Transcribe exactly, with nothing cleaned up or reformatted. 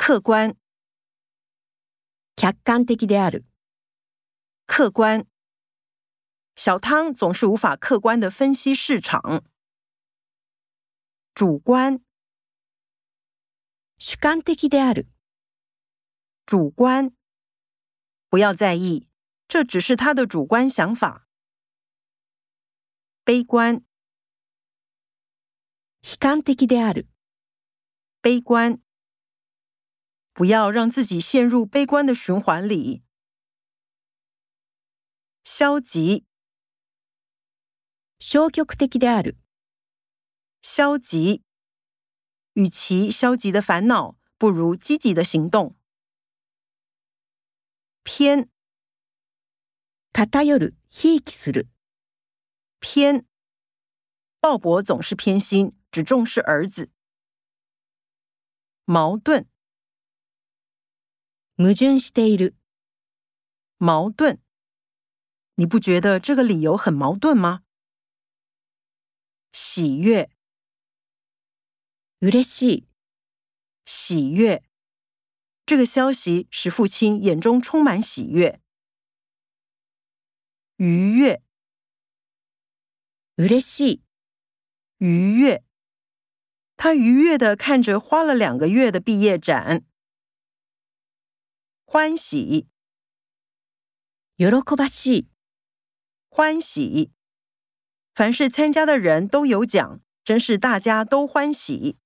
客观。 客観的である。 客观。小汤总是无法客观地分析市场。主观。 主観的である。 主观。不要在意，这只是他的主观想法。悲观。 悲観的である。 悲观。不要让自己陷入悲观的循环里。消极。 消極的である。 消极。与其消极的烦恼，不如积极的行动。偏。 偏る、ひいきする。 偏。鲍勃总是偏心，只重视儿子。矛盾。 矛盾している。 矛盾。你不觉得这个理由很矛盾吗？喜悦。 嬉しい。 喜悦。这个消息使父亲眼中充满喜悦。愉悦。 嬉しい。 愉悦。他愉悦地看着花了两个月的毕业展。欢喜。 喜ばしい。 欢喜。凡是参加的人都有奖，真是大家都欢喜。